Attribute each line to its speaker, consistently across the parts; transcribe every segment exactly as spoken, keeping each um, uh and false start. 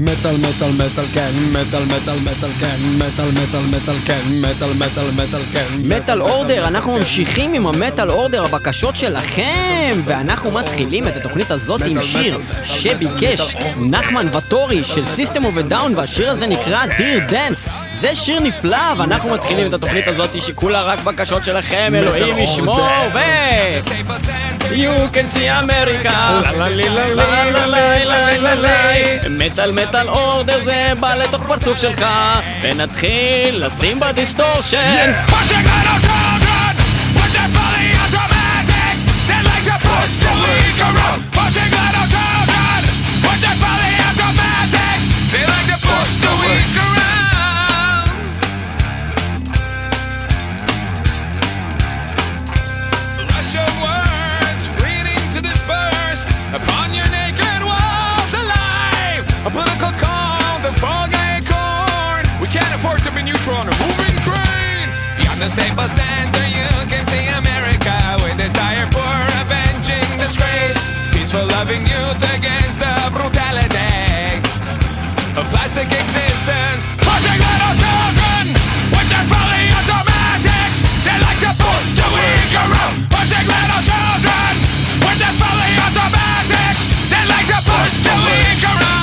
Speaker 1: מטל מטל מטל כן, מטל מטל מטל כן, מטל מטל מטל כן, מטל מטל מטל כן.
Speaker 2: מטל אורדר, אנחנו ממשיכים עם המטל אורדר, הבקשות שלכם, ואנחנו מתחילים את התוכנית הזאת עם שיר שביקש נחמן וטורי של System of a Down, והשיר הזה נקרא Dear Dance. זה שיר נפלא, ואנחנו מתחילים את התוכנית הזאת שכולה רק בקשות שלכם, אלוהים ישמור, ו... You can see America. מטל מטל אורדר זה בא לתוך פרצוף שלך, ונתחיל לשים בדיסטורשן.
Speaker 3: Upon your naked walls alive, a political calm, the fog acorn. We can't afford to be neutral on a moving train. Beyond the Staples Center you can see America with its dire poor avenging disgrace. Peaceful loving youth against the brutality of plastic existence. Pushing little children with their fully automatics. They like to push the weak around. Pushing little children with their fully automatics. They like to push the weak around.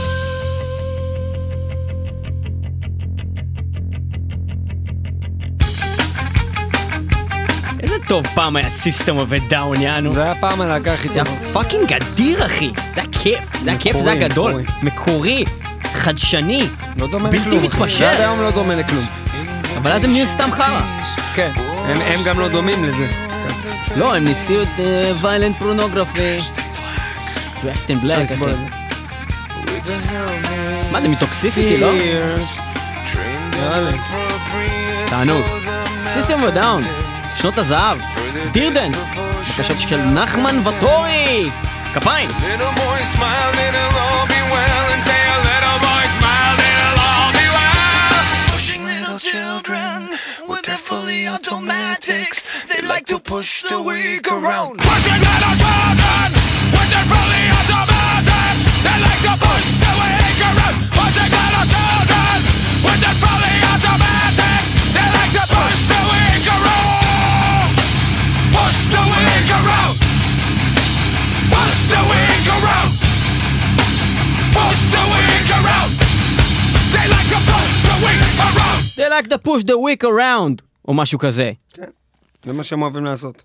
Speaker 2: איזה טוב פעם היה System of a Down, יענו.
Speaker 1: זה היה פעם הלהקה הכי
Speaker 2: זה
Speaker 1: טובה.
Speaker 2: היה פאקינג אדיר, אחי. זה היה כיף, זה היה כיף, זה היה גדול. מקורי, חדשני,
Speaker 1: לא דומה
Speaker 2: בלתי
Speaker 1: לכלום.
Speaker 2: מתפשר.
Speaker 1: עד היום לא דומה לכלום.
Speaker 2: אבל אז הם נהיו סתם חרא.
Speaker 1: כן, הם- הם גם לא דומים לזה.
Speaker 2: לא, הם ניסו את ויילנט פורנוגרפי. דרסט אין בלק, אחי. מה זה, מטוקסיסיטי, לא? תענוג. System of a Down, שנות הזהב, Dear Dance, בקשות של נחמן וטורי. כפיים.
Speaker 3: Little boy smiled, it'll all be well. And say a little boy smiled, it'll all be well. Pushing little children with their fully automatics. They like to push the weak around. Pushing little children with their fully automatics. They like to push the weak around. Pushing little children with their fully automatics. They like to push the weak around. Push the weak around. Push the weak around. Push the weak around. They like to push the weak around.
Speaker 2: They like to push the weak around, או משהו כזה.
Speaker 1: כן, זה מה שהם אוהבים לעשות.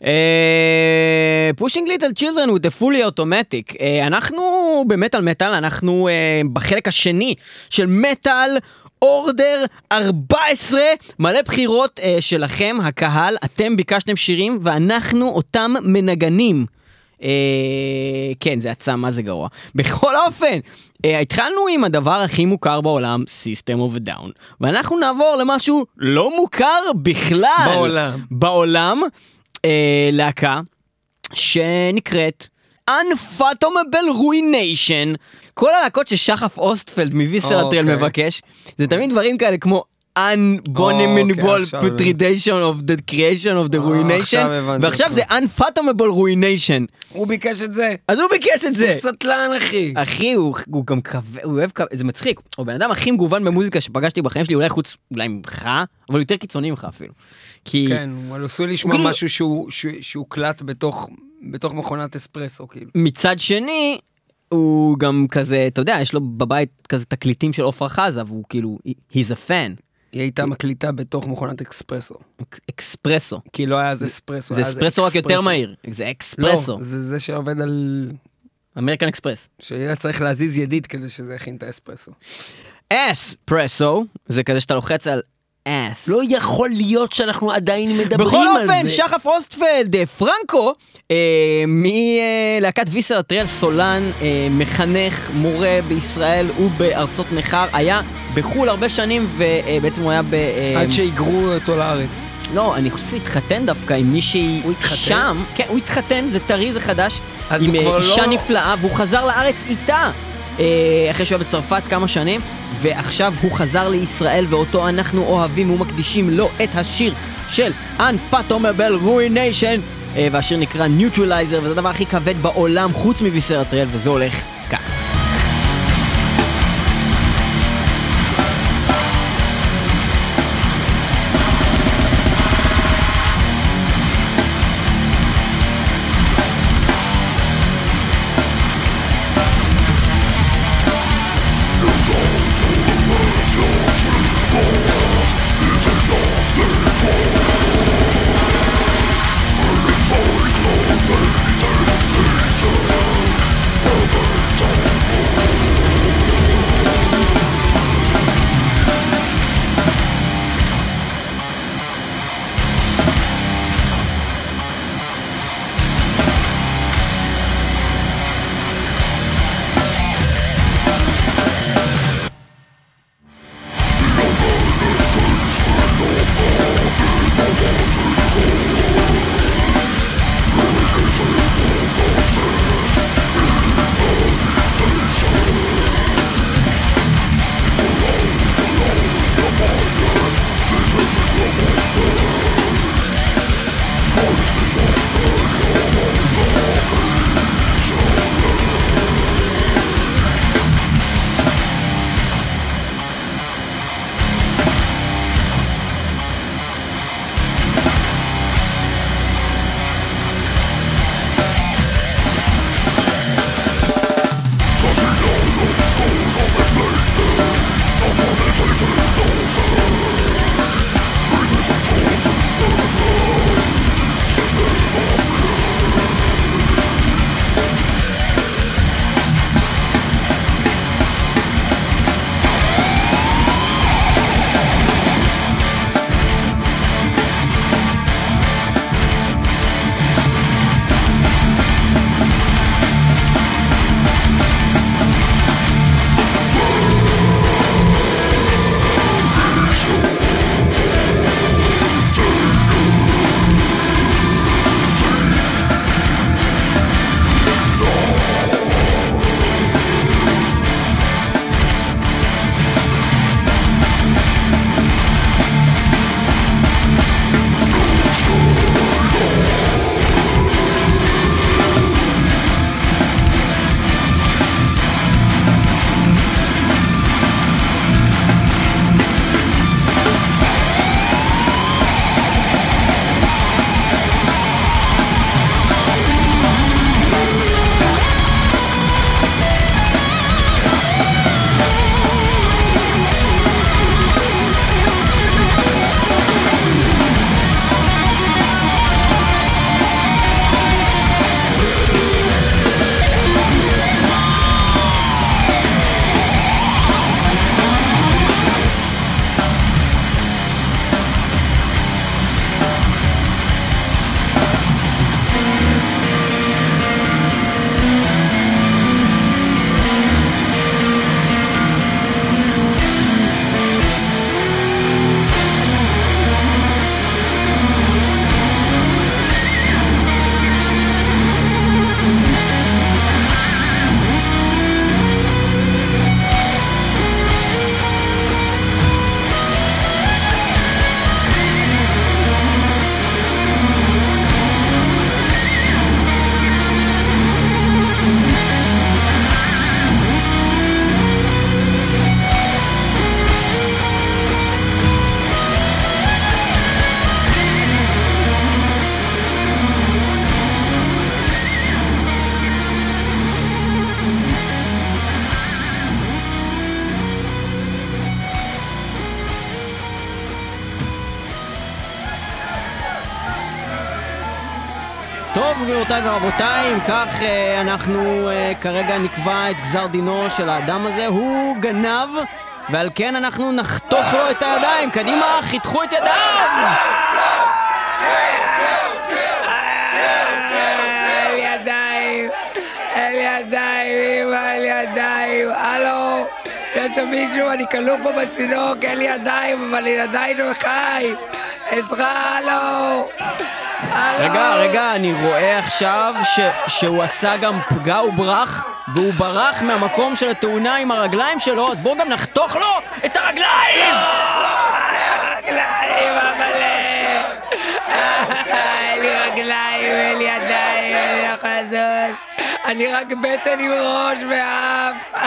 Speaker 2: Pushing little children with a fully automatic. אה, אנחנו במטל מטל, אנחנו אה, בחלק השני של מטל אורדר ארבע עשרה, מלא בחירות אה, שלכם, הקהל, אתם ביקשתם שירים ואנחנו אותם מנגנים. אה, כן, זה עצם, מה זה גרוע. בכל אופן, אה, התחלנו עם הדבר הכי מוכר בעולם, System of a Down, ואנחנו נעבור למשהו לא מוכר בכלל.
Speaker 1: בעולם.
Speaker 2: בעולם, אה, להקה שנקראת Unfathomable Ruination. כל הלהקות ששחף אוסטפלד מוויסרטרל
Speaker 1: אוקיי.
Speaker 2: מבקש, זה תמיד דברים כאלה כמו Unbonable
Speaker 1: אוקיי, עכשיו
Speaker 2: Putridation of the Creation of the Ruination,
Speaker 1: עכשיו הבנתי
Speaker 2: ועכשיו
Speaker 1: אותך.
Speaker 2: זה Unfathomable Ruination.
Speaker 1: הוא ביקש את זה.
Speaker 2: אז הוא ביקש את זה.
Speaker 1: הוא סטלן, אחי.
Speaker 2: אחי, הוא, הוא גם כווה, הוא אוהב כווה, זה מצחיק. הוא בן אדם הכי מגוון במוזיקה שפגשתי בחיים שלי, אולי חוץ, אולי ממך, אבל יותר קיצוני ממך אפילו. כי...
Speaker 1: כן, אבל עשוי לשמוע
Speaker 2: כאילו-
Speaker 1: משהו שהוא- שהוא שהוא קלט בתוך בתוך מכונת אספרסו, כאילו.
Speaker 2: מצד שני, הוא גם כזה, אתה יודע, יש לו בבית כזה תקליטים של עופרה חזה, והוא כאילו, he's a fan.
Speaker 1: היא הייתה מקליטה בתוך מכונת אקספרסו.
Speaker 2: אקספרסו.
Speaker 1: כי לא היה זה אספרסו.
Speaker 2: זה
Speaker 1: היה
Speaker 2: אספרסו רק יותר
Speaker 1: אקספרסו.
Speaker 2: מהיר. זה אקספרסו.
Speaker 1: לא, זה זה שעובד על...
Speaker 2: אמריקן אקספרס.
Speaker 1: שיהיה צריך להזיז ידית כדי שזה יכין את האספרסו.
Speaker 2: אספרסו, זה כזה שאתה לוחץ על אס.
Speaker 1: לא יכול להיות שאנחנו עדיין מדברים
Speaker 2: בכל
Speaker 1: על
Speaker 2: אופן,
Speaker 1: זה.
Speaker 2: שחף אוסטפלד, אה, פרנקו, אה, מלהקת ויסרטרל, סולן, אה, מחנך, מורה בישראל ובארצות נכר, היה בחול הרבה שנים, ובעצם הוא היה ב... אה,
Speaker 1: עד שיגרו אותו לארץ.
Speaker 2: לא, אני חושב שהוא התחתן דווקא עם מישהי
Speaker 1: הוא התחתן?
Speaker 2: שם. כן, הוא התחתן, זה טרי, זה חדש.
Speaker 1: אז
Speaker 2: עם
Speaker 1: הוא כבר
Speaker 2: אה, אישה
Speaker 1: לא-
Speaker 2: נפלאה, והוא חזר לארץ איתה. אה, אחרי שהוא היה בצרפת כמה שנים, ועכשיו הוא חזר לישראל, ואותו אנחנו אוהבים ומקדישים לו את השיר של Unfathomable Ruination, אה, והשיר נקרא Neutralizer, וזה הדבר הכי כבד בעולם חוץ מוויסרטרל, וזה הולך כך. טוב, גבירותיי ורבותיי, אם כך אנחנו כרגע נקבע את גזר דינו של האדם הזה. הוא גנב, ועל כן אנחנו נחתוך לו את הידיים. קדימה, חיתכו את ידיו!
Speaker 4: אל ידיים, אל ידיים, אל ידיים, הלו, יש שם מישהו, אני כלוא פה בצינוק, אין לי ידיים, אבל אני עדיין לא חי. עזרה, הלו.
Speaker 2: רגע, רגע, אני רואה עכשיו ש, שהוא עשה גם פגע וברח, והוא ברח מהמקום של התאונה עם הרגליים שלו, אז בואו גם נחתוך לו את הרגליים!
Speaker 4: הרגליים, אבל... אין לי רגליים, אין לי ידיים, אין לי יכול לזוז. אני רק בטן עם ראש ואף.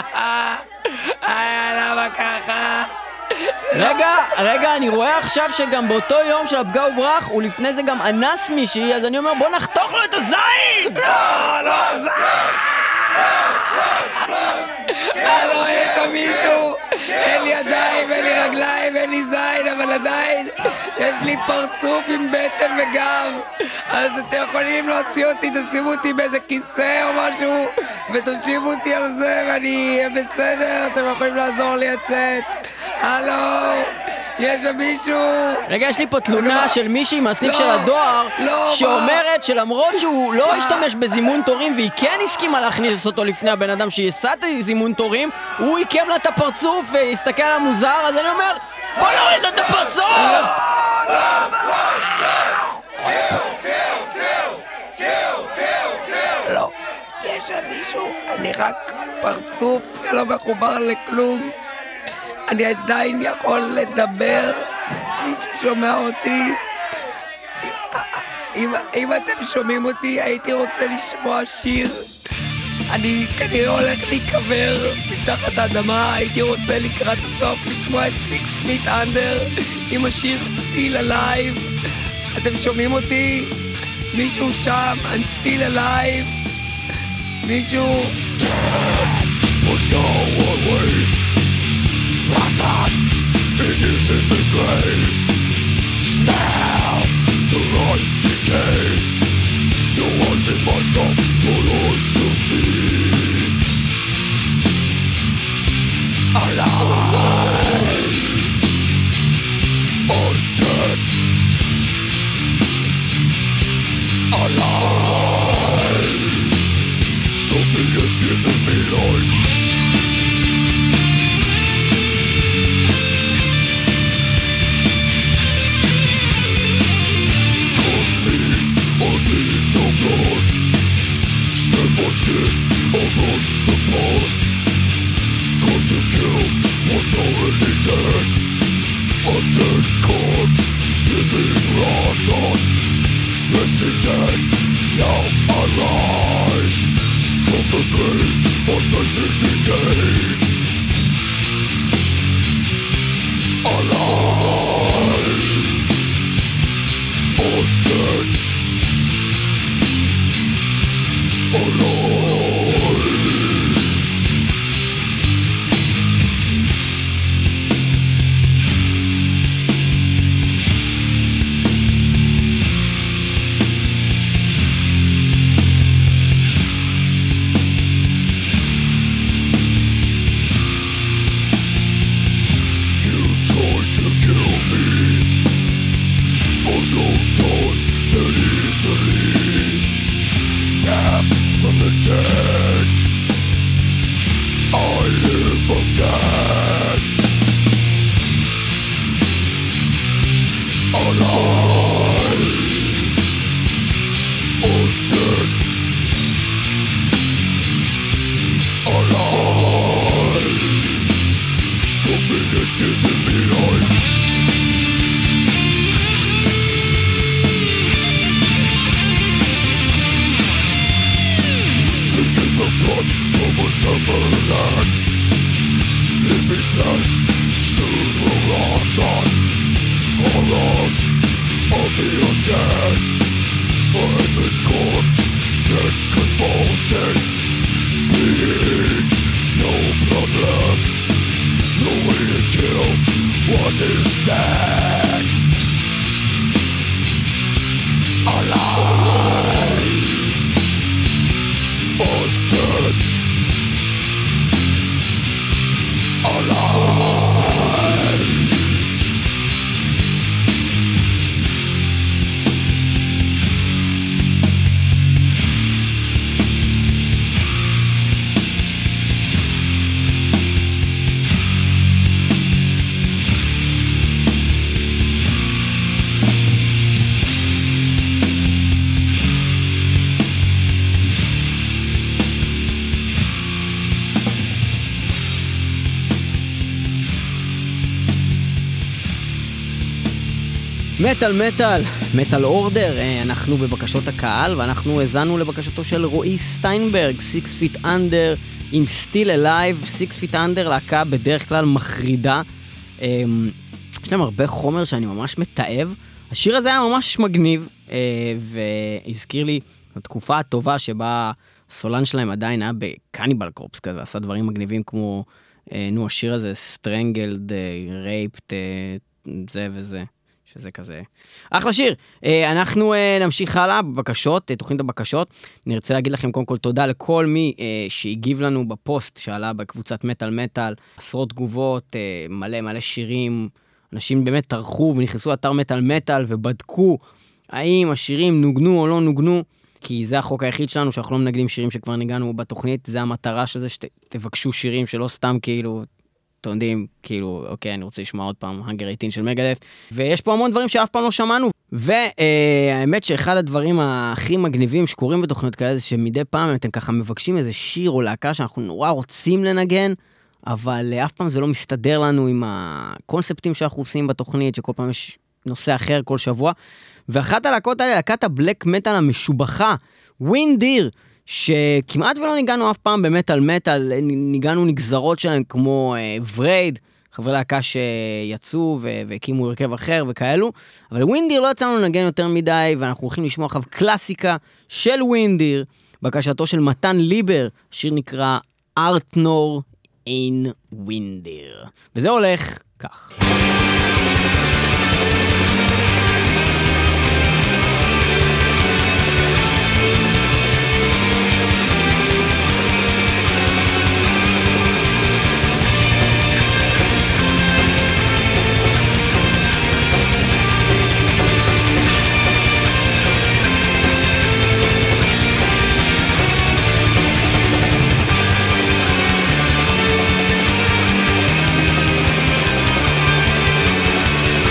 Speaker 4: למה ככה?
Speaker 2: רגע, רגע, אני רואה עכשיו שגם באותו יום של הפגע וברח הוא לפני זה גם אנס מישהי, אז אני אומר בוא נחתוך לו את הזין!
Speaker 4: לא, לא, זין! הלו, יש שם מישהו, אין לי ידיים, אין לי רגליים, אין לי זין, אבל עדיין יש לי פרצוף עם בטן וגב, אז אתם יכולים להוציא אותי, תשימו אותי באיזה כיסא או משהו ותושיבו אותי על זה ואני אהיה בסדר, אתם יכולים לעזור לי לצאת. הלו, יש שם מישהו.
Speaker 2: רגע, יש לי פה תלונה של מישהי מהסניף של הדואר שאומרת שלמרות שהוא לא השתמש בזימון תורים והיא כן הסכימה להכניס אותו לפני הבן אדם שיסע את זימון תורים, הוא עיקם לה את הפרצוף והסתכל על המוזר, אז אני אומר בוא נוריד לו את הפרצוף!
Speaker 4: לא, יש שם מישהו, אני רק פרצוף שלא מחובר לכלום, אני עדיין יכול לדבר, מישהו שומע אותי. אם, אם אתם שומעים אותי, הייתי רוצה לשמוע שיר. אני כנראה הולך להיקבר מתחת האדמה, הייתי רוצה לקראת הסוף לשמוע את Six Feet Under עם השיר Still Alive. אתם שומעים אותי? מישהו שם? I'm still alive. מישהו?
Speaker 3: It is in the grave. Smell the right decay. The ones in my stomach, but I still see. Alive, undead. Alive. Something has given me life. Skin against the past. Time to kill what's already dead. A dead corpse, living rotten. Resting dead, now I rise from the grave of the sixty days. Alive, undead. Alive. Alive.
Speaker 2: מטל מטל, מטל אורדר, אנחנו בבקשות הקהל ואנחנו הזנו לבקשתו של רועי סטיינברג, Six Feet Under עם Still Alive. Six Feet Under להקה בדרך כלל מחרידה, יש להם הרבה חומר שאני ממש מתאהב. השיר הזה היה ממש מגניב והזכיר לי התקופה הטובה שבה הסולן שלהם עדיין היה בקניבל קורפס כזה, עשה דברים מגניבים כמו נו השיר הזה Strangled, Raped, זה וזה, שזה כזה אחלה שיר. אנחנו נמשיך הלאה בבקשות, תוכנית הבקשות. נרצה להגיד לכם קודם כל תודה לכל מי שהגיב לנו בפוסט שעלה בקבוצת מטל מטל, עשרות תגובות, מלא מלא שירים, אנשים באמת טרחו ונכנסו לאתר מטל מטל ובדקו האם השירים נוגנו או לא נוגנו, כי זה החוק היחיד שלנו שאנחנו לא מנגנים שירים שכבר ניגענו בתוכנית, זה המטרה של זה שתבקשו שירים שלא סתם כאילו אתם יודעים, כאילו, אוקיי, אני רוצה לשמוע עוד פעם Hunger אייטין של מגדף, ויש פה המון דברים שאף פעם לא שמענו, והאמת שאחד הדברים הכי מגניבים שקורים בתוכניות כאלה, זה שמדי פעם אתם ככה מבקשים איזה שיר או להקה שאנחנו נורא רוצים לנגן, אבל אף פעם זה לא מסתדר לנו עם הקונספטים שאנחנו עושים בתוכנית, שכל פעם יש נושא אחר כל שבוע, ואחת הלהקות האלה, להקת הבלק מטל המשובחה, ווינדיר, שכמעט ולא ניגענו אף פעם במטל מטל, ניגענו נגזרות שלהם כמו ורייד, חברי להקה שיצאו והקימו הרכב אחר וכאלו, אבל ווינדיר לא יצאנו לנגן יותר מדי, ואנחנו הולכים לשמוע עכשיו קלאסיקה של ווינדיר, בקשתו של מתן ליבר, השיר נקרא ארטנור אין ווינדיר, וזה הולך כך.
Speaker 3: Thank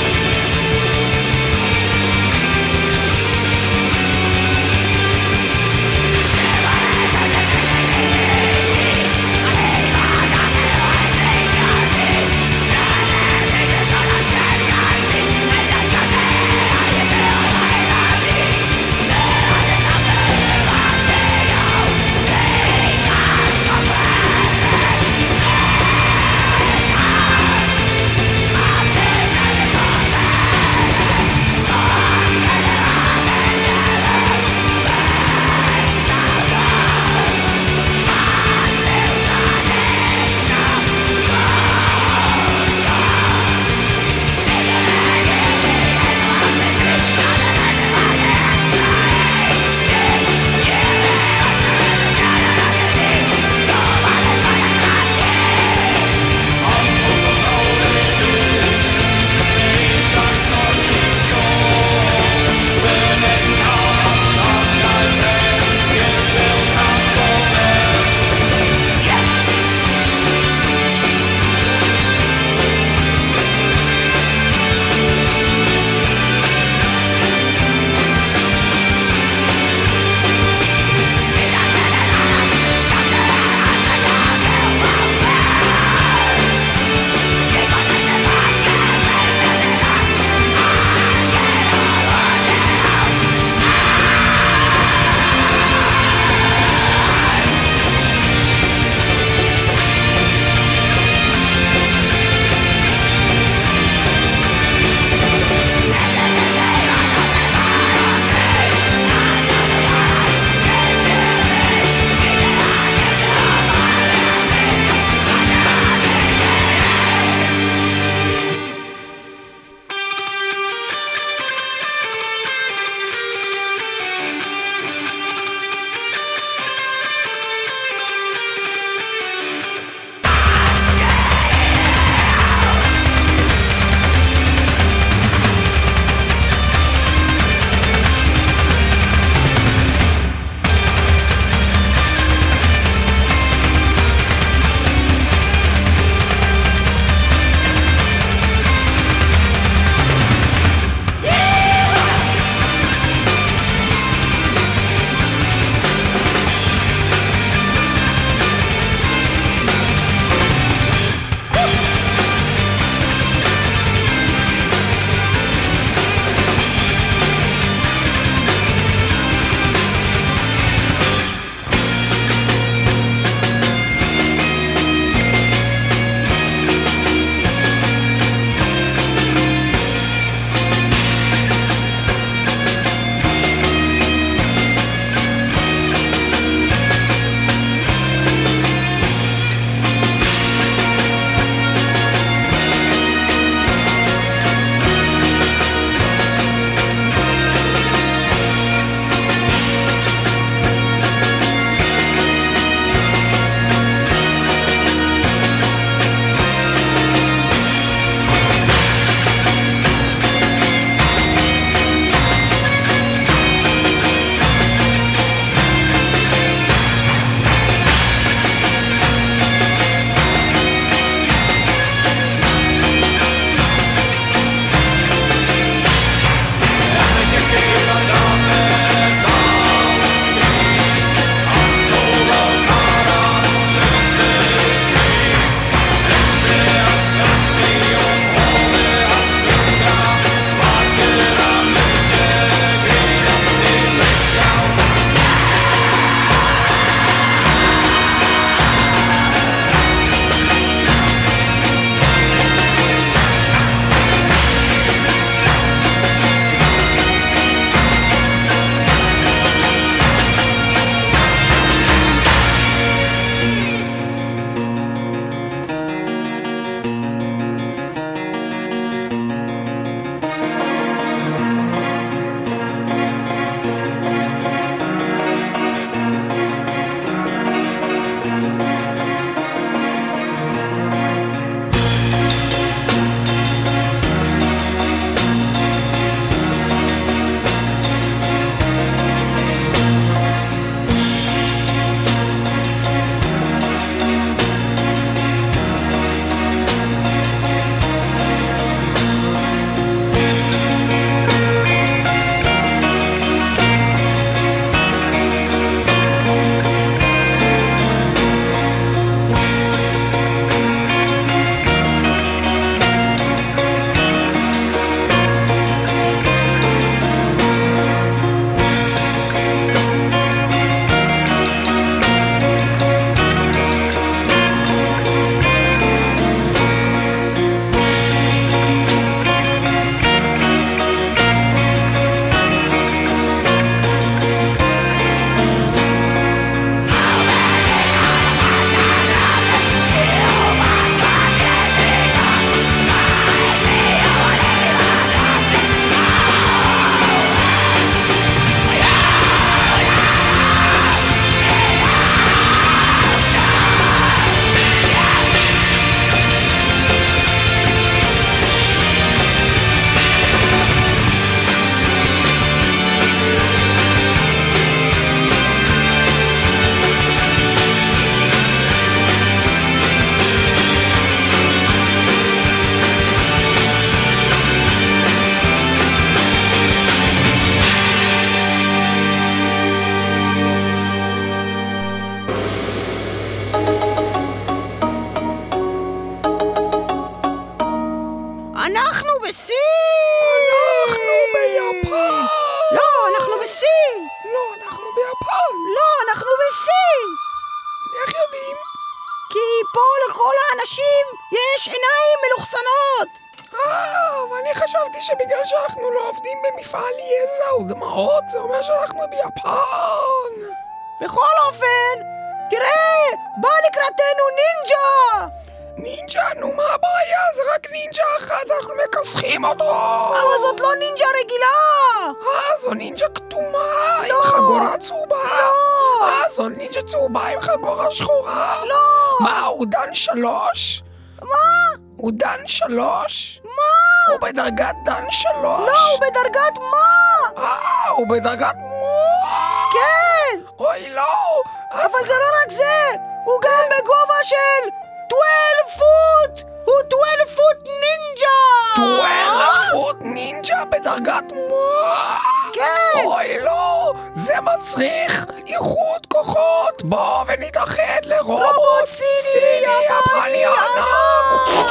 Speaker 2: לאנשים יש עיניים מלוכסנות.
Speaker 4: אה, אבל אני חשבתי שבגלל שאנחנו לא עובדים במפעל יזע ודמעות, זה אומר שאנחנו ביפן.
Speaker 2: בכל אופן, תראה, בא לקראתנו נינג'ה!
Speaker 4: נינג'ה, נו מה הבעיה? זה רק נינג'ה אחת, אנחנו מכסחים אותו!
Speaker 2: אבל זאת לא נינג'ה רגילה!
Speaker 4: אה, זו נינג'ה כתומה עם חגורה צהובה!
Speaker 2: לא!
Speaker 4: אה, זו נינג'ה צהובה עם חגורה שחורה!
Speaker 2: לא!
Speaker 4: מה, הוא דן שלוש?
Speaker 2: מה?
Speaker 4: הוא דן שלוש?
Speaker 2: מה?
Speaker 4: הוא בדרגת דן שלוש?
Speaker 2: לא, הוא בדרגת מה?
Speaker 4: אה, הוא בדרגת מה?
Speaker 2: כן!
Speaker 4: אוי, לא!
Speaker 2: אבל זה לא רק זה! הוא גם בגובה של twelve פוט! הוא twelve פוט נינג'ה!
Speaker 4: twelve פוט נינג'ה בדרגת מה?
Speaker 2: כן!
Speaker 4: אוי, לא! זה מצריך איחוד כוחות! בוא ונתאחד לרובוט
Speaker 2: רובוט סיני יפני ענק!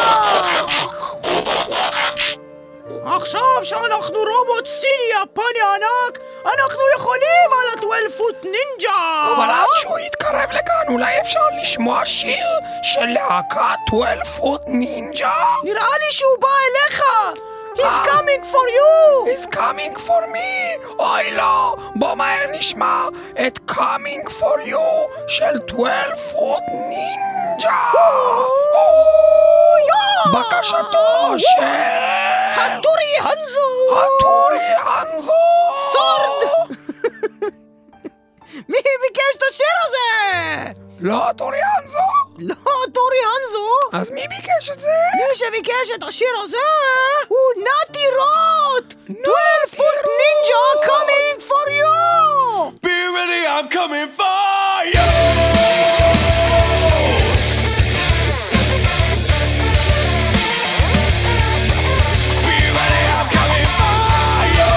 Speaker 2: עכשיו שאנחנו רובוט סיני יפני ענק, אנחנו יכולים על ה-twelve פוט נינג'ה!
Speaker 4: אבל עד שהוא יתקרב לכאן, אולי אפשר לשמוע שיר של להקת twelve פוט נינג'ה?
Speaker 2: נראה לי שהוא בא אליך! He's coming for you!
Speaker 4: He's coming for me! אוי לא! בוא מהר נשמע את coming for you של twelve פוט נינג'ה! בקשתו של...
Speaker 2: הטורי הנזו!
Speaker 4: הטורי הנזו!
Speaker 2: סורד! מי ביקש את השיר הזה?
Speaker 4: לא הטורי הנזו?
Speaker 2: לא טורי הנזו!
Speaker 4: אז מי ביקש את זה?
Speaker 2: מי שביקש את השיר הזה הוא נאטי רוט! twelve פוט נינג'ה coming for you!
Speaker 3: Be ready, I'm coming for you. Be ready, I'm coming for you.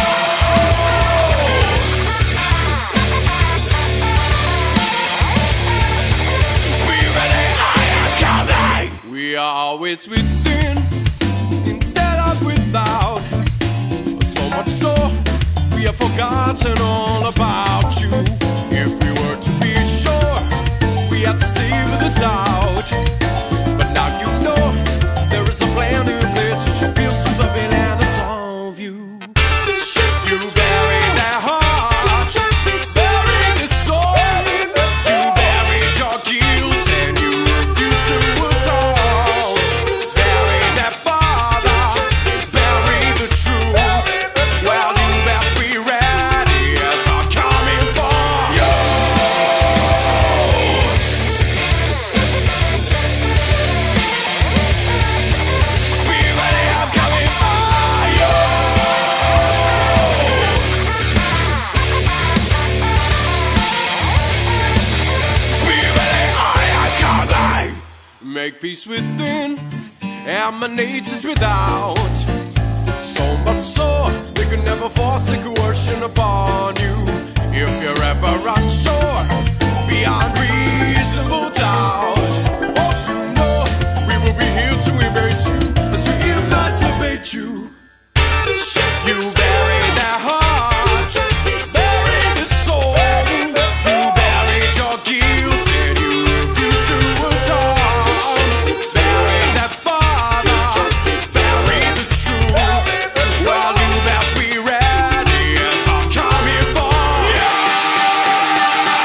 Speaker 3: Be ready, I am coming. We are always within instead of without. So much so we have forgotten all about you. If we were to be sure, we had to save the doubt. But now you know there is a plan in place to pierce through the veil and absolve you. You buried their heart, buried the soul. You buried your guilt and you refused to atone. Buried their father, buried the truth. Well, you best be ready as I'm coming for you. Be ready, I'm coming for you. Be ready, I am coming. Make peace within, emanates without. So much so, they could never force a coercion upon you. If you're ever unsure, beyond reasonable doubt, oh, you know, we will be here to embrace you as we emancipate you. You buried their heart, buried the soul. You buried your guilt and you refused to atone. Buried their father, buried the truth. Well, you best be ready as I'm coming for you.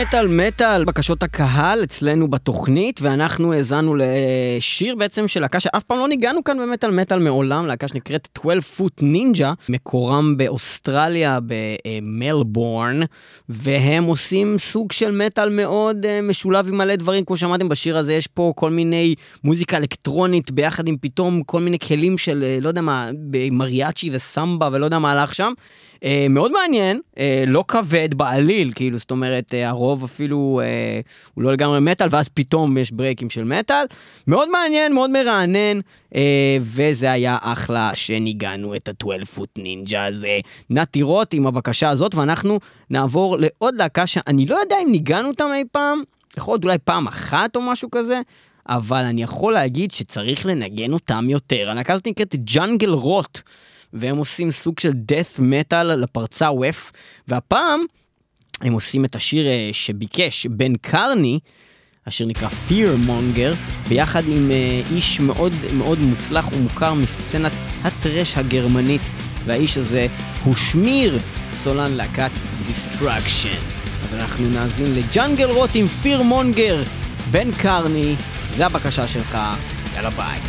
Speaker 2: מטל מטל, בקשות הקהל אצלנו בתוכנית, ואנחנו האזנו לשיר בעצם של להקה שאף פעם לא ניגענו כאן במטל מטל מעולם, להקה שנקראת twelve foot ninja, מקורם באוסטרליה, במלבורן, והם עושים סוג של מטל מאוד משולב עם מלא דברים, כמו שאמרתם בשיר הזה, יש פה כל מיני מוזיקה אלקטרונית, ביחד עם פתאום כל מיני כלים של, לא יודע מה, מריאצ'י וסמבה, ולא יודע מה הלך שם, Uh, מאוד מעניין, uh, לא כבד בעליל, כאילו, זאת אומרת, uh, הרוב אפילו uh, הוא לא לגמרי מטל, ואז פתאום יש ברייקים של מטל, מאוד מעניין, מאוד מרענן, uh, וזה היה אחלה שניגענו את ה-twelve foot ninja הזה. נתירות עם הבקשה הזאת, ואנחנו נעבור לעוד להקה שאני לא יודע אם ניגענו אותם אי פעם, יכול להיות אולי פעם אחת או משהו כזה, אבל אני יכול להגיד שצריך לנגן אותם יותר. הלהקה הזאת נקראת ג'אנגל רוט, והם עושים סוג של death metal לפרצה ווף, והפעם הם עושים את השיר שביקש בן קרני, השיר נקרא Fear Monger, ביחד עם איש מאוד מאוד מוצלח ומוכר מסצנת הטרש הגרמנית, והאיש הזה הוא שמיר, סולן להקת Destruction. אז אנחנו נאזין לג'אנגל רוט עם Fear Monger, בן קרני, זה הבקשה שלך, יאללה ביי.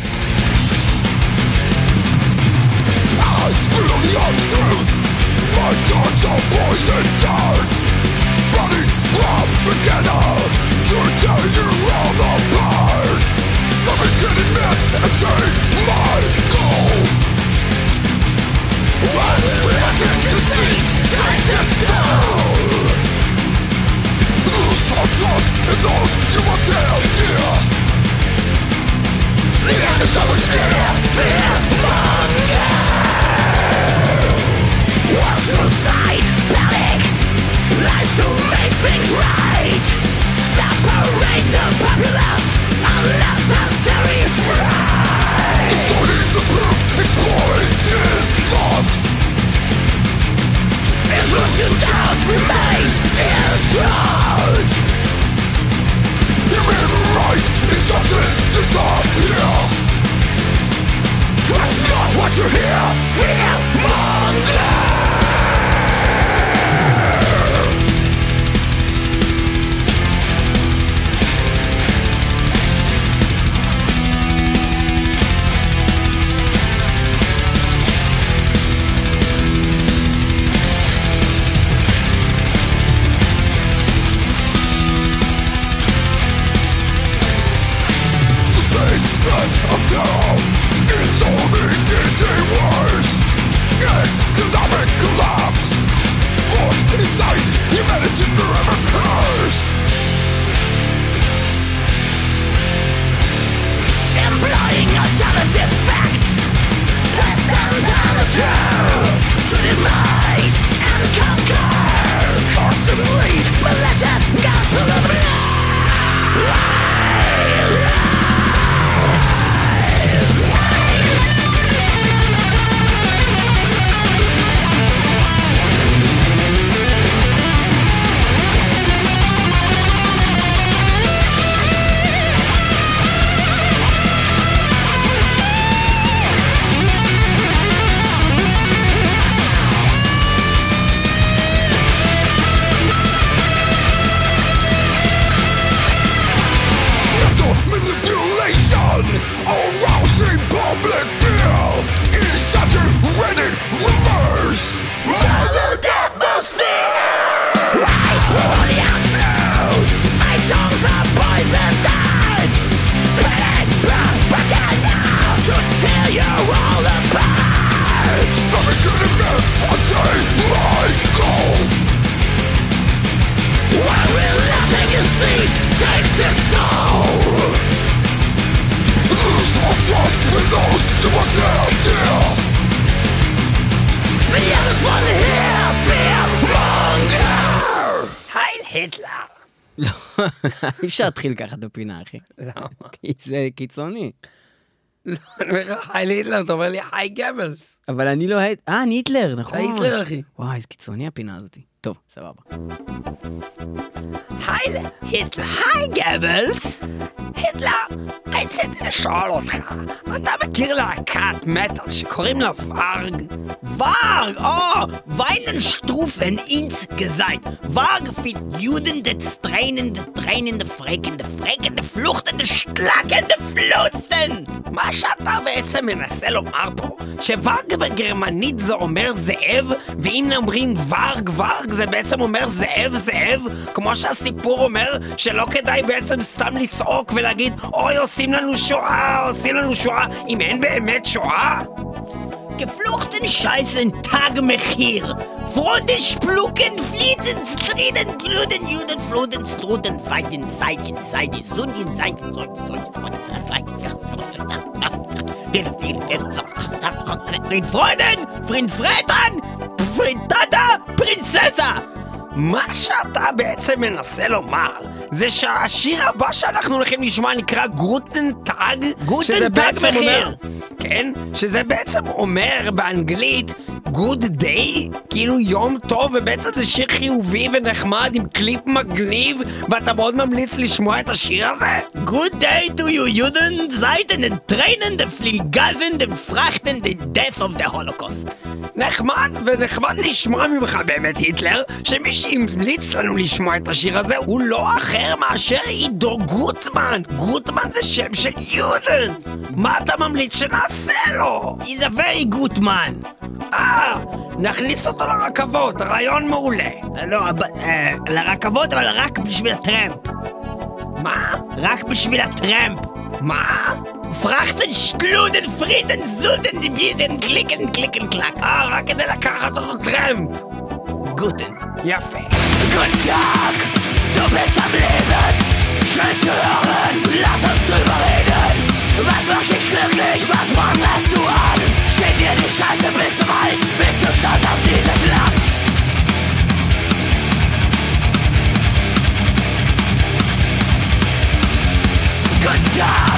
Speaker 3: I spill the untruth. My tongue's a poison dart, running from beginner to tear you all apart. From beginning myth and take my goal. When reacting deceit takes its toll, lose no trust in those you once held dear. The end is so much near. Fear monger. What's suicide, panic, lies to make things right. Separate the populace, unnecessary pride. Distorting the proof, exploiting thought. Influencing doubt, remain distraught. Human rights, injustice, disappear. Trust not what you hear, fear monger. Of terror, it's only getting worse. Economic collapse, forced inside humanity forever cursed. Employing alternative facts, twist them down the truth, to divide and conquer. Force to believe, malicious gospel of lies. Arousing public fear, exaggerated rumors, violent atmosphere. Rise for the untruth, my tongues are poisoned out, spreading propaganda to tear you all apart. From beginning myth, attain my goal. While relenting your seed takes its toll. Lose no trust in those who once held dear. The end is one here, fear monger. Heil Hitler.
Speaker 2: לא, אי אפשר להתחיל ככה את הפינה, אחי.
Speaker 4: למה?
Speaker 2: כי זה קיצוני.
Speaker 4: לא, אני אומר לך, היי היטלר, אתה אומר לי, היי גבלס.
Speaker 2: אבל אני לא היית... אה, אני היטלר, נכון.
Speaker 4: אתה היטלר, אחי.
Speaker 2: וואי, איזה קיצוני הפינה הזאת. טוב, סבבה.
Speaker 4: היי היטלר, היי גבלס. היטלר, רציתי לשאול אותך, אתה מכיר להקת מטל שקוראים לה ורג?
Speaker 2: Varg, oh, Weinenstrufen insgesamt. Varg fit Juden, de trainende, trainende, freckende, freckende, fluchtende, schlagende פלוצטן!
Speaker 4: מה שאתה בעצם מנסה לומר פה, שוורג בגרמנית זה אומר זאב, ואם אומרים ורג ורג זה בעצם אומר זאב זאב, כמו שהסיפור אומר שלא כדאי בעצם סתם לצעוק ולהגיד אוי עושים לנו שואה, עושים לנו שואה, אם אין באמת שואה.
Speaker 2: Gefluchten Scheißen Tag Mechir. Fronten splucken, flieten, striden, glüden, juden, floden, struden, feiten, seitchen, seite, sundien, seiten, sollten, sollten, Freunde, vielleicht, Friend Freunden, Friend Fretern, Friend Tata, Prinzessa.
Speaker 4: מה שאתה בעצם מנסה לומר זה שהשיר הבא שאנחנו הולכים לשמוע נקרא גוטן טאג,
Speaker 2: גוטן טאג מחיר.
Speaker 4: כן, שזה בעצם אומר באנגלית good day, כאילו יום טוב, ובעצם זה שיר חיובי ונחמד עם קליפ מגניב, ואתה מאוד ממליץ לשמוע את השיר הזה?
Speaker 2: Good day to you, Juden, seiten den Tränen, den Fliegen, den Frachten, the death of the Holocaust.
Speaker 4: נחמד, ונחמד לשמוע ממך באמת היטלר, שמי שהמליץ לנו לשמוע את השיר הזה הוא לא אחר מאשר עידו גוטמן. גוטמן זה שם של יודן. מה אתה ממליץ שנעשה לו?
Speaker 2: He's a very good man.
Speaker 4: אה, נכניס אותו לרכבות, רעיון מעולה.
Speaker 2: לא, לרכבות, אבל רק בשביל הטרמפ.
Speaker 4: מה?
Speaker 2: רק בשביל הטרמפ.
Speaker 4: מה?
Speaker 2: פרחטן, שקלודן, פרידן, זודן, דיבידן, קליקן, קליקן, קלק.
Speaker 4: אה, רק כדי לקחת אותו טרמפ.
Speaker 2: גוטן.
Speaker 4: יפה.
Speaker 3: Guten Tag, du bist am Leben. Schön zu hören, lass uns drüber reden. Was macht dich glücklich, was mangelst du an? Steht dir die Scheiße bis zum Hals, bist du stolz auf dieses Land? Guten Tag.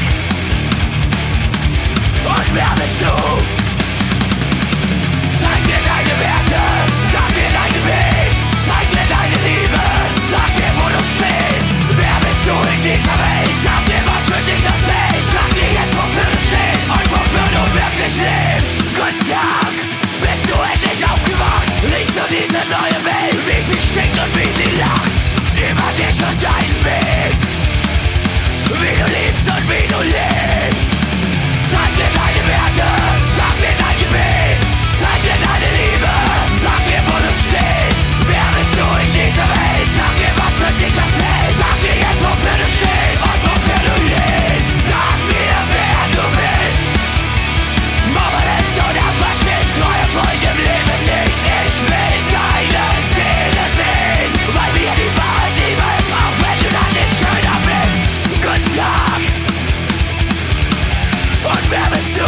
Speaker 3: Und wer bist du? Zeig mir deine Werte, sag mir dein Gebet, zeig mir deine Liebe, sag mir, wo du stehst. Wer bist du in dieser Welt? Sag mir, was für dich das zählt. Sag mir jetzt, wofür du stehst und wofür du wirklich lebst. Guten Tag, bist du endlich aufgewacht? Riechst du diese neue Welt, wie sie stinkt und wie sie lacht? Über dich und deinen Weg, wie du liebst und wie du lebst. Zeig mir deine Werte, sag mir dein Gebet, zeig mir deine Liebe, sag mir, wo du stehst. Wer bist du in dieser Welt? Sag mir, was für dich das zählt. Sag mir jetzt, wofür du stehst und wofür du lebst. Sag mir, wer du bist. Mobilist oder Faschist, neue Freunde im Leben nicht. Ich will deine Seele sehen, weil mir die Wahrheit lieber ist, auch wenn du dann nicht schöner bist. Guten Tag. Und wer bist du?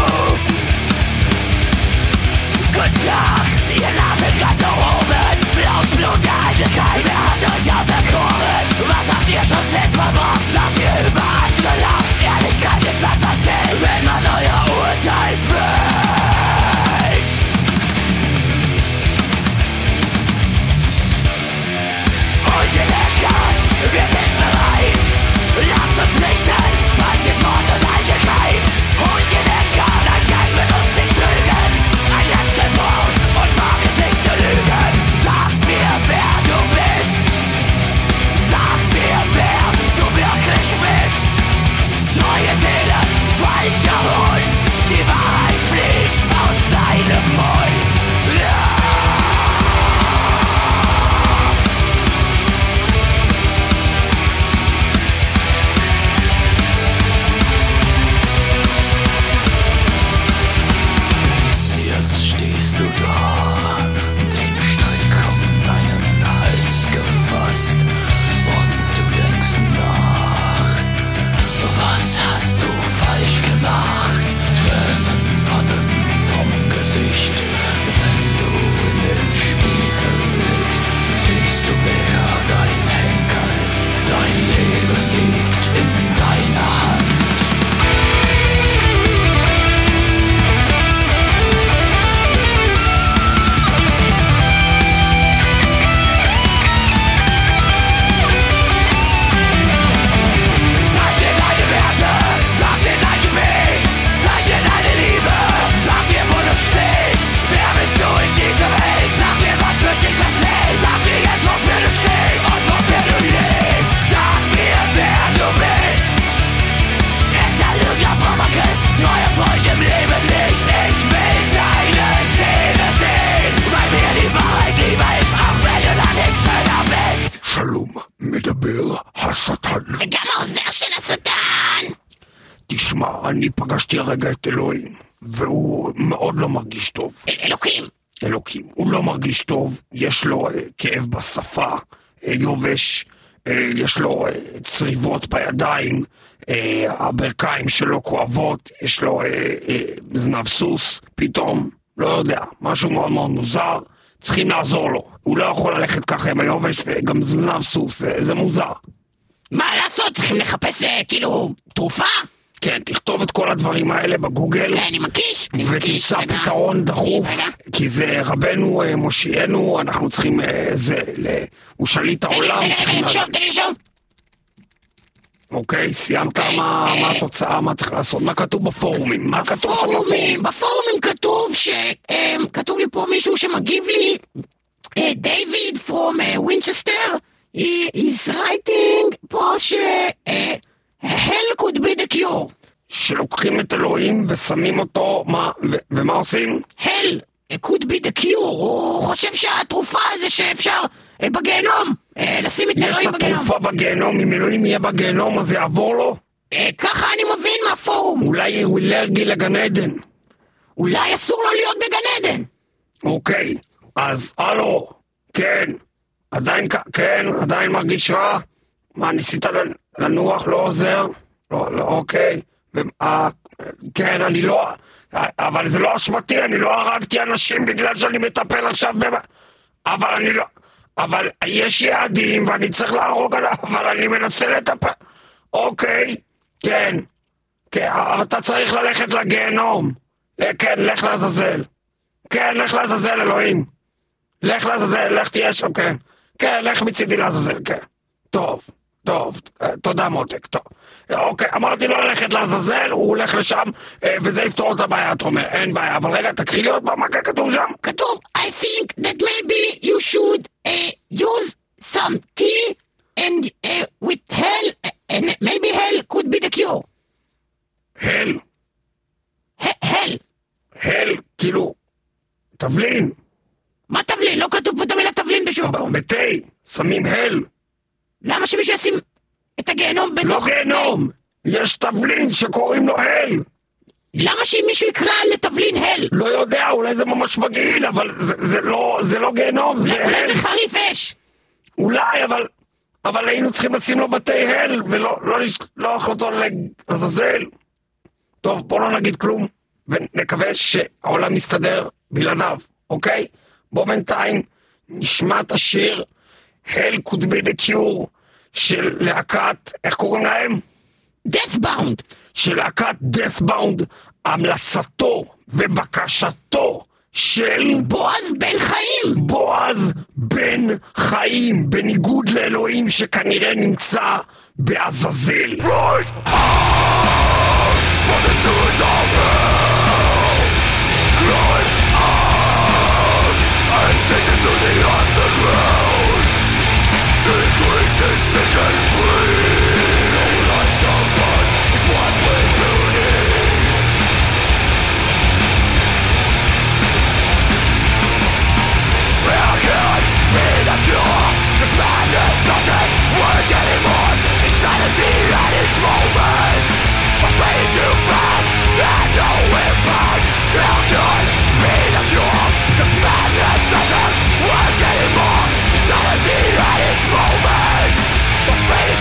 Speaker 3: Guten Tag, ihr Nase ganz nach oben. Blaues Blut der Eitelkeit, wer hat euch auserkoren? Was habt ihr schon selbst verbracht, dass ihr über andere lacht? Ehrlichkeit ist das, was zählt, wenn man euer Urteil fällt. Und in der Karte, wir sind bereit. Lasst uns richten, falsches Mord und Eitelkeit. Und in der Karte, ein Schein wird uns nicht trügen. Ein letztes Wort und wag es nicht zu lügen. Sag mir, wer du bist. Sag mir, wer du wirklich bist.
Speaker 5: השטן.
Speaker 6: וגם העוזר של השטן.
Speaker 5: תשמע, אני פגשתי הרגע את אלוהים, והוא מאוד לא מרגיש טוב.
Speaker 6: אל- אלוקים.
Speaker 5: אלוקים, הוא לא מרגיש טוב, יש לו אה, כאב בשפה, אה, יובש, אה, יש לו אה, צריבות בידיים, אה, הברכיים שלו כואבות, יש לו אה, אה, זנב סוס, פתאום, לא יודע, משהו מאוד מאוד מוזר, צריכים לעזור לו, הוא לא יכול ללכת ככה עם היובש וגם זנב סוס, זה, זה מוזר.
Speaker 6: מה לעשות? צריכים לחפש אה, כאילו תרופה?
Speaker 5: כן, תכתוב את כל הדברים האלה בגוגל.
Speaker 6: כן, אני מקיש. אני מקיש.
Speaker 5: ותמצא
Speaker 6: רגע.
Speaker 5: פתרון דחוף,
Speaker 6: רגע.
Speaker 5: כי זה רבנו אה, מושיענו, אנחנו צריכים, אה, זה, ל- הוא שליט
Speaker 6: תן לי,
Speaker 5: העולם,
Speaker 6: תן לי, תן
Speaker 5: צריכים
Speaker 6: לי
Speaker 5: לדעת.
Speaker 6: לרשום, תן לי לרשום.
Speaker 5: אוקיי, סיימת
Speaker 6: אוקיי,
Speaker 5: מה
Speaker 6: אה,
Speaker 5: מה התוצאה, מה צריך לעשות, מה כתוב בפורומים, מה כתוב שם
Speaker 6: בפורומים,
Speaker 5: בפורומים?
Speaker 6: בפורומים כתוב ש... אה, כתוב לי פה מישהו שמגיב לי, אה, דיוויד from אה, Winchester, he is writing פה ש... אה, hell could be the cure.
Speaker 5: שלוקחים את אלוהים ושמים אותו, מה, ו- ומה עושים?
Speaker 6: hell could be the cure. הוא חושב שהתרופה זה שאפשר אה, בגיהנום, אה, לשים את
Speaker 5: יש
Speaker 6: אלוהים
Speaker 5: את
Speaker 6: בגיהנום.
Speaker 5: התרופה בגיהנום, אם אלוהים יהיה בגיהנום אז זה יעבור לו?
Speaker 6: אה, ככה אני מבין מהפורום.
Speaker 5: אולי הוא אלרגי לגן עדן.
Speaker 6: אולי אסור לו להיות בגן עדן.
Speaker 5: אוקיי, אז הלו, כן, עדיין, כ- כן, עדיין מרגיש רע? מה, ניסית לנ- לנוח, לא עוזר? לא, לא, אוקיי, ו- אה, כן, אני לא, אבל זה לא אשמתי, אני לא הרגתי אנשים בגלל שאני מטפל עכשיו ב... אבל אני לא, אבל יש יעדים ואני צריך להרוג עליו, אבל אני מנסה לטפל, אוקיי, כן, כן, אבל אתה צריך ללכת לגיהנום, אה, כן, לך לעזאזל. כן, לך לעזאזל, אלוהים. לך לעזאזל, לך תהיה שם, כן. כן, לך מצידי לעזאזל, כן. טוב, טוב, אה, תודה מותק, טוב. אה, אוקיי, אמרתי לו ללכת לעזאזל, הוא הולך לשם, אה, וזה יפתור את הבעיה, אתה אומר, אין בעיה, אבל רגע, תקריא לי עוד פעם מה כתוב שם.
Speaker 6: כתוב, I think that maybe you should uh, use some tea and uh, with hell, uh, and maybe hell could be the cure.
Speaker 5: הל,
Speaker 6: He- hell.
Speaker 5: הל, כאילו, תבלין,
Speaker 6: מה תבלין? לא כתוב פה את המילה תבלין בשום מקום.
Speaker 5: בתה, שמים הל,
Speaker 6: למה שמישהו ישים את הגיהנום
Speaker 5: לא
Speaker 6: בתוך...
Speaker 5: גיהנום, יש תבלין שקוראים לו הל.
Speaker 6: למה שמישהו יקרא לתבלין הל?
Speaker 5: לא יודע, אולי זה ממש מגעיל, אבל זה, זה לא, זה לא גיהנום, זה
Speaker 6: אולי
Speaker 5: הל.
Speaker 6: זה חריף אש.
Speaker 5: אולי, אבל, אבל היינו צריכים לשים לו בתי הל, ולא לא לשלוח אותו לעזאזל. טוב, בוא לא נגיד כלום, ונקווה שהעולם מסתדר בלעדיו, אוקיי? בוא בינתיים נשמע את השיר Hell Could Be The Cure של להקת, איך קוראים להם?
Speaker 6: Deathbound.
Speaker 5: של להקת Deathbound, המלצתו ובקשתו של
Speaker 6: בועז בן חיים.
Speaker 5: בועז בן חיים, בניגוד לאלוהים שכנראה נמצא בעזאזל.
Speaker 3: Moments, the fate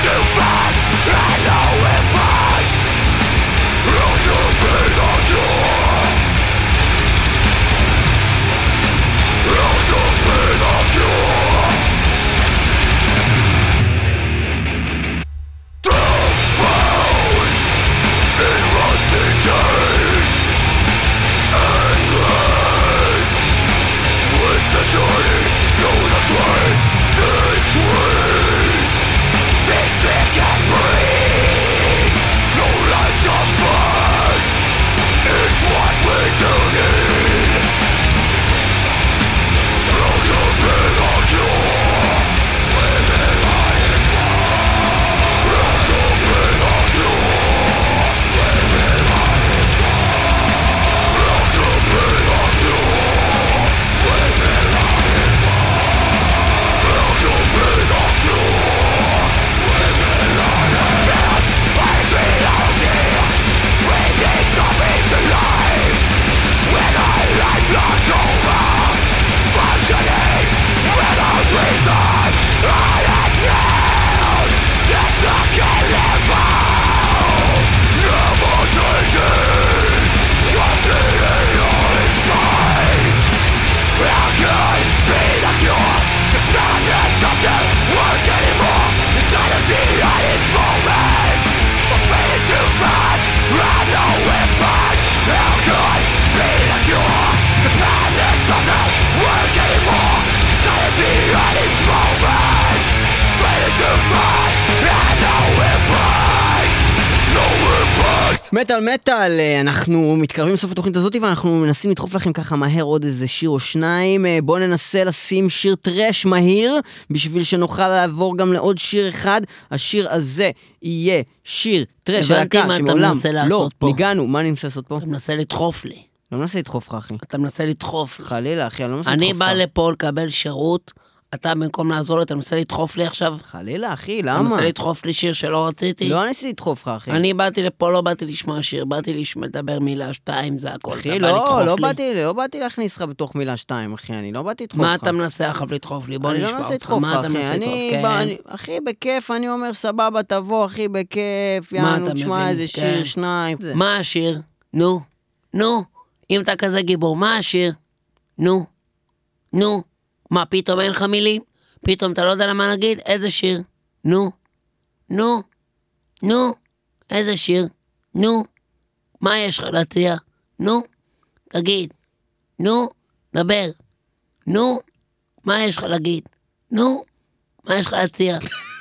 Speaker 2: מטל מטל, אנחנו מתקרבים לסוף התוכנית הזאת ואנחנו מנסים לדחוף לכם ככה מהר עוד איזה שיר או שניים. בואו ננסה לשים שיר טרש מהיר בשביל שנוכל לעבור גם לעוד שיר אחד. השיר הזה יהיה שיר טרש הלהקה שמעולם לא ניגענו. מה אני מנסה לעשות פה?
Speaker 7: אתה מנסה לדחוף לי.
Speaker 2: לא מנסה לדחוף לך, אחי.
Speaker 7: אתה מנסה לדחוף.
Speaker 2: חלילה, אחי, אני לא מנסה לדחוף לך.
Speaker 7: אני בא לפה לקבל שירות, אתה במקום לעזור לי, אתה מנסה לדחוף לי עכשיו?
Speaker 2: חלילה, אחי,
Speaker 7: אתה
Speaker 2: למה?
Speaker 7: מנסה לדחוף לי שיר שלא רציתי?
Speaker 2: לא ניסיתי לדחוף לך, אחי.
Speaker 7: אני באתי לפה, לא באתי לשמוע שיר, באתי לשמוע לדבר מילה שתיים, זה הכל.
Speaker 2: אחי, לא, לא באתי, לא באתי להכניס לך בתוך מילה שתיים, אחי, אני לא באתי לדחוף לך.
Speaker 7: מה אתה מנסה עכשיו לדחוף לי? בוא נשמע אותך.
Speaker 2: אני לא מנסה לדחוף לך, אחי. אני, אחי, בכיף, אני אומר, סבבה, תבוא, אחי, בכיף, יאנו, תשמע איזה שיר, שניים.
Speaker 7: מה השיר? נו, נו, אם אתה כזה גיבור, מה השיר? נו, נו, מה, פתאום אין לך מילים? פתאום אתה לא יודע למה נגיד? איזה שיר? נו, נו, נו, איזה שיר? נו, מה יש לך להציע? נו, תגיד, נו, דבר, נו, מה יש לך להגיד? נו, מה יש לך להציע?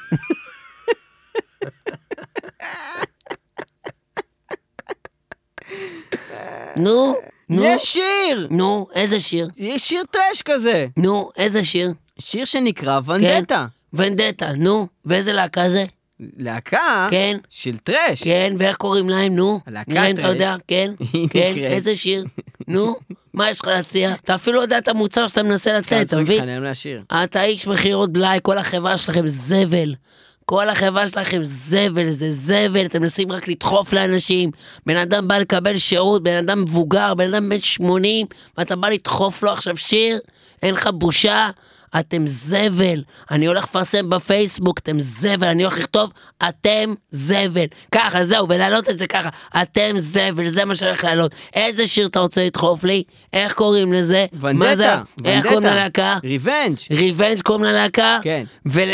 Speaker 7: נו, נו.
Speaker 2: יש שיר!
Speaker 7: נו, איזה שיר?
Speaker 2: יש שיר טרש כזה.
Speaker 7: נו, איזה שיר?
Speaker 2: שיר שנקרא ונדטה.
Speaker 7: כן, ונדטה, נו. ואיזה להקה זה?
Speaker 2: להקה?
Speaker 7: כן.
Speaker 2: של טרש.
Speaker 7: כן, ואיך קוראים להם, נו?
Speaker 2: להקה
Speaker 7: נראה אם
Speaker 2: טרש.
Speaker 7: אתה יודע, כן, כן, איזה שיר? נו, מה יש לך להציע? אתה אפילו יודע את המוצר שאתה מנסה לתת, אתה מבין? אתה איש מחירות בלאי, כל החברה שלכם זבל. כל החברה שלכם זבל, זה זבל, אתם מנסים רק לדחוף לאנשים. בן אדם בא לקבל שירות, בן אדם מבוגר, בן אדם בן שמונים, ואתה בא לדחוף לו עכשיו שיר, אין לך בושה, אתם זבל. אני הולך לפרסם בפייסבוק, אתם זבל, אני הולך לכתוב, אתם זבל. ככה, זהו, ולהעלות את זה ככה, אתם זבל, זה מה שאני הולך להעלות. איזה שיר אתה רוצה לדחוף לי? איך קוראים לזה?
Speaker 2: ונדטה.
Speaker 7: מה זה? איך קוראים ללהקה?
Speaker 2: ריבנג'.
Speaker 7: ריבנג' קוראים ללהקה?
Speaker 2: כן.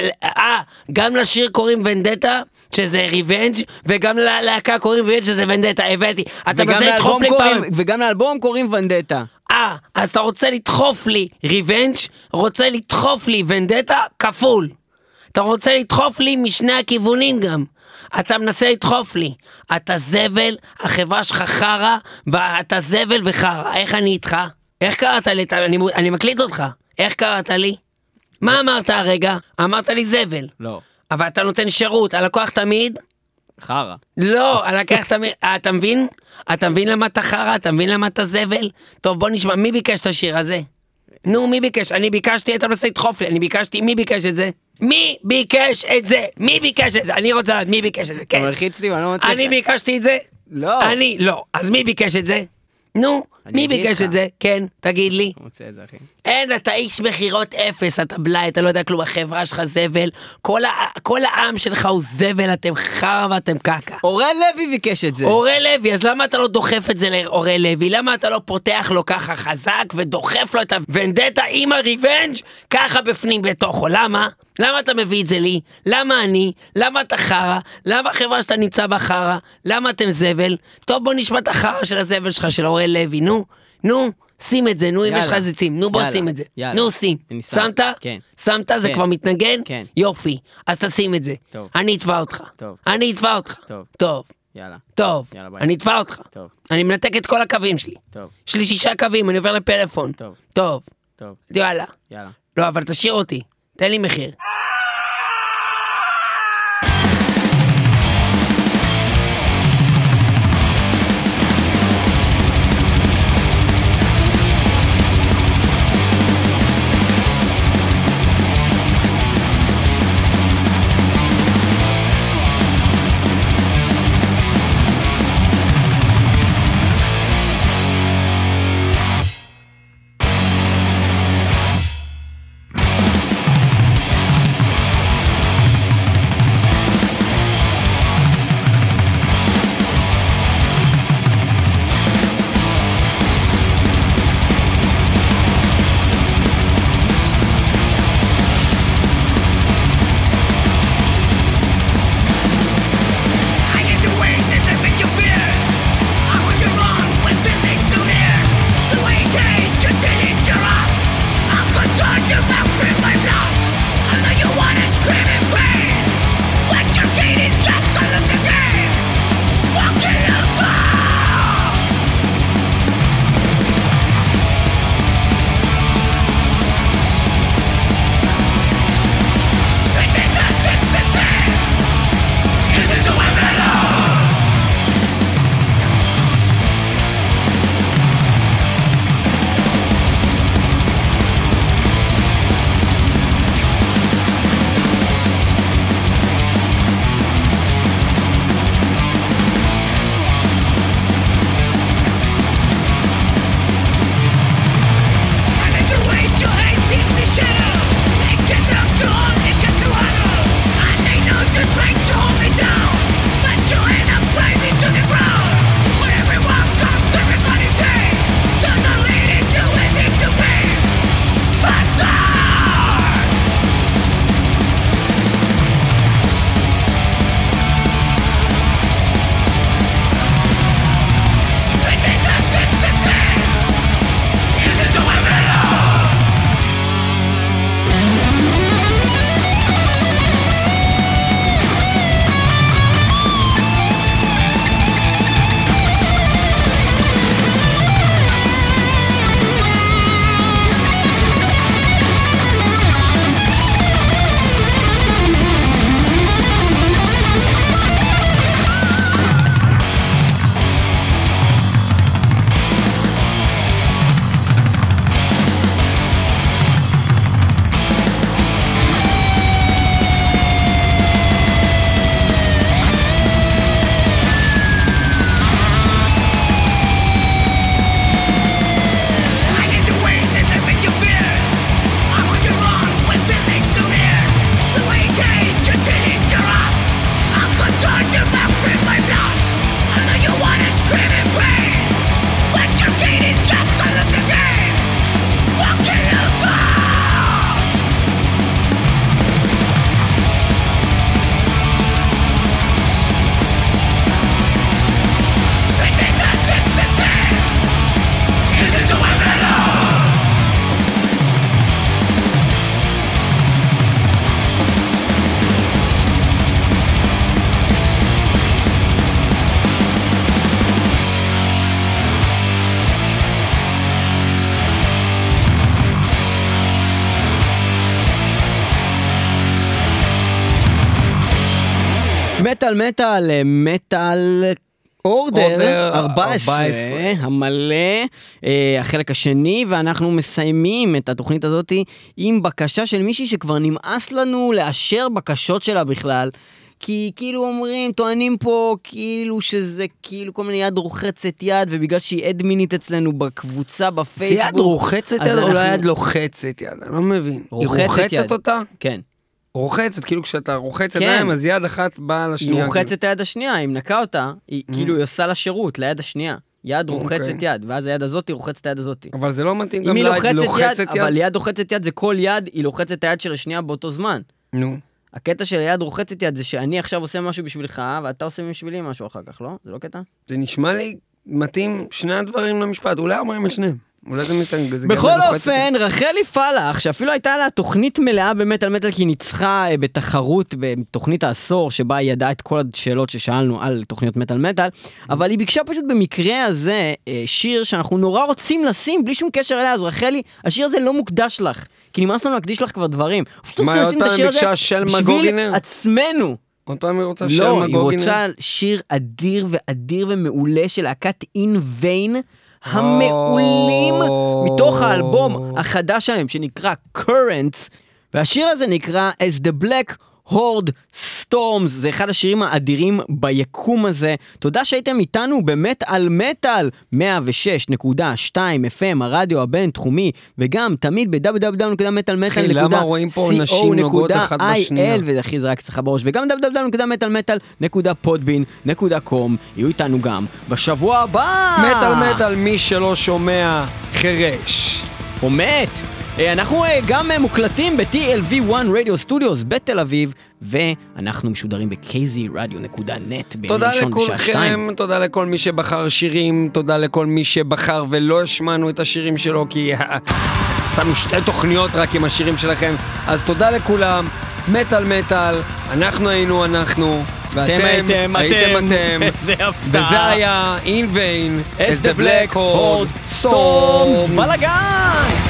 Speaker 7: אה, גם לשיר קוראים ונדטה, שזה ריבנג', וגם ללהקה קוראים ונדטה, שזה ונדטה, הבאתי. אתה מנסה לדחוף לי פעם.
Speaker 2: וגם לאלבום קוראים ונדטה.
Speaker 7: אה, אז אתה רוצה לדחוף לי ריבנג', רוצה לדחוף לי ונדטה, כפול. אתה רוצה לדחוף לי משני הכיוונים גם. אתה מנסה לדחוף לי. אתה זבל, החברה שלך חרה, ואתה זבל וחרה. איך אני איתך? איך קראת לי? אני, אני מקליט אותך. איך קראת לי? מה אמרת הרגע? אמרת לי זבל.
Speaker 2: לא.
Speaker 7: אבל אתה נותן שירות, הלקוח תמיד?
Speaker 2: חרה.
Speaker 7: לא, הלקוח תמיד, אתה מבין? אתה מבין למה אתה חרה? אתה מבין למה אתה זבל? טוב, בוא נשמע, מי ביקש את השיר הזה? נו, מי ביקש? אני ביקשתי, אתה מנסה לדחוף לי, אני ביקשתי, מי ביקש את זה? מי ביקש את זה? מי ביקש את זה? אני רוצה לדעת, מי ביקש את זה? כן.
Speaker 2: מלחיץ לי, אני לא מצליח.
Speaker 7: אני ביקשתי את זה?
Speaker 2: לא.
Speaker 7: אני, לא. אז מי ביקש את זה? נו, מי ביקש את זה? כן, תגיד לי.
Speaker 2: רוצה את זה, אחי.
Speaker 7: אין, אתה איש מחירות אפס, אתה בלאי, אתה לא יודע כלום, החברה שלך זבל, כל, ה, כל העם שלך הוא זבל, אתם חרא ואתם קקה.
Speaker 2: אורל לוי ביקש את זה.
Speaker 7: אורל לוי, אז למה אתה לא דוחף את זה לאורל לוי? למה אתה לא פותח לו ככה חזק ודוחף לו את הוונדטה עם הריבנג' ככה בפנים בתוכו? למה? למה אתה מביא את זה לי? למה אני? למה אתה חרא? למה החברה שאתה נמצא בחרא? למה אתם זבל? טוב, בוא נשמע את החרא של הזבל שלך, של אורל לוי, נו, נו. שים את זה, נו, אם יש לך איזה צים, נו בוא שים את זה, נו שים, שמת?
Speaker 2: כן.
Speaker 7: שמת? זה כבר מתנגן?
Speaker 2: כן.
Speaker 7: יופי, אז תשים את זה, אני אתבע אותך, אני אתבע אותך, טוב,
Speaker 2: יאללה,
Speaker 7: טוב, אני אתבע אותך,
Speaker 2: טוב,
Speaker 7: אני מנתק את כל הקווים שלי,
Speaker 2: טוב,
Speaker 7: יש לי שישה קווים, אני עובר לפלאפון,
Speaker 2: טוב,
Speaker 7: טוב,
Speaker 2: טוב,
Speaker 7: יאללה,
Speaker 2: יאללה,
Speaker 7: לא, אבל תשאיר אותי, תן לי מחיר.
Speaker 2: מטל מטל, מטל אורדר
Speaker 4: אורדר
Speaker 2: ארבע עשרה,
Speaker 4: ארבע עשרה.
Speaker 2: המלא, אה, החלק השני, ואנחנו מסיימים את התוכנית הזאת עם בקשה של מישהי שכבר נמאס לנו לאשר בקשות שלה בכלל, כי כאילו אומרים, טוענים פה כאילו שזה כאילו כל מיני יד רוחצת יד, ובגלל שהיא אדמינית אצלנו בקבוצה בפייסבוק.
Speaker 4: זה יד רוחצת
Speaker 2: אז
Speaker 4: יד או לא
Speaker 2: אנחנו-
Speaker 4: יד לוחצת יד? אני לא מבין. היא
Speaker 2: רוחצת
Speaker 4: רוחצת
Speaker 2: יד.
Speaker 4: אותה?
Speaker 2: כן.
Speaker 4: רוחצת, כאילו כשאתה רוחץ
Speaker 2: כן.
Speaker 4: ידיים, אז יד אחת באה
Speaker 2: היא
Speaker 4: לשנייה.
Speaker 2: רוחצת את היד השנייה, היא מנקה אותה, היא כאילו היא עושה לה שירות ליד השנייה. יד רוחצת
Speaker 4: אוקיי.
Speaker 2: יד, ואז היד הזאת היא רוחצת את היד הזאת.
Speaker 4: כאילו. אבל זה לא מתאים
Speaker 2: אם
Speaker 4: גם
Speaker 2: היא
Speaker 4: ליד
Speaker 2: לוחצת
Speaker 4: לוחצת
Speaker 2: יד,
Speaker 4: יד.
Speaker 2: אבל יד רוחצת יד זה כל יד, היא לוחצת את היד של השנייה באותו זמן.
Speaker 4: נו.
Speaker 2: הקטע של היד רוחצת יד זה שאני עכשיו עושה משהו בשבילך, ואתה עושה בשבילי משהו אחר כך, לא? זה לא קטע?
Speaker 4: זה נשמע לי מתאים שני הדברים למשפט, אולי אומרים את שניהם. אולי זה מתאים, זה גם
Speaker 2: בכל
Speaker 4: לוחצת
Speaker 2: אופן, רחלי פלח, שאפילו הייתה לה תוכנית מלאה במטל מטל, כי היא ניצחה אה, בתחרות בתוכנית העשור, שבה היא ידעה את כל השאלות ששאלנו על תוכניות מטל מטל, אבל היא ביקשה פשוט במקרה הזה אה, שיר שאנחנו נורא רוצים לשים, בלי שום קשר אליה, אז רחלי, השיר הזה לא מוקדש לך, כי נמאס לנו להקדיש לך כבר דברים. פשוט
Speaker 4: מה,
Speaker 2: רוצים
Speaker 4: עוד
Speaker 2: לשים את
Speaker 4: פעם
Speaker 2: השיר הזה
Speaker 4: ביקשה שלמה
Speaker 2: בשביל
Speaker 4: גוגינר?
Speaker 2: עצמנו.
Speaker 4: עוד פעם היא רוצה של
Speaker 2: לא, היא
Speaker 4: מגוגינר?
Speaker 2: רוצה שיר אדיר ואדיר ומעולה של להקת אין ויין, המעולים מתוך האלבום החדש שלהם שנקרא Currents, והשיר הזה נקרא As the Black Horde Storms, זה אחד השירים האדירים ביקום הזה. תודה שהייתם איתנו באמת על מטל מאה ושש נקודה שתיים אף אם, הרדיו הבינתחומי, וגם תמיד ב-דאבליו דאבליו דאבליו נקודה מטל מטל נקודה
Speaker 4: למה רואים פה נשים נוגעות אחת בשנייה?
Speaker 2: וזה הכי זרק אצלך בראש, וגם דאבליו דאבליו דאבליו נקודה מטל מטל נקודה פודבין נקודה קום. יהיו איתנו גם בשבוע הבא.
Speaker 4: מטל מטל, מי שלא שומע חרש.
Speaker 2: או מת. אנחנו גם מוקלטים ב-טי אל וי וואן Radio Studios בתל אביב, ואנחנו משודרים ב-קיי זי רדיו נקודה נט
Speaker 4: תודה לכולכם, תודה לכל מי שבחר שירים, תודה לכל מי שבחר ולא השמענו את השירים שלו, כי עשינו שתי תוכניות רק עם השירים שלכם, אז תודה לכולם, מטל מטל, אנחנו היינו אנחנו, ואתם
Speaker 2: הייתם
Speaker 4: הייתם
Speaker 2: אתם.
Speaker 4: אתם,
Speaker 2: איזה הפתעה.
Speaker 4: וזה היה In Vain,
Speaker 2: As the Black Horde Storms. בלגן!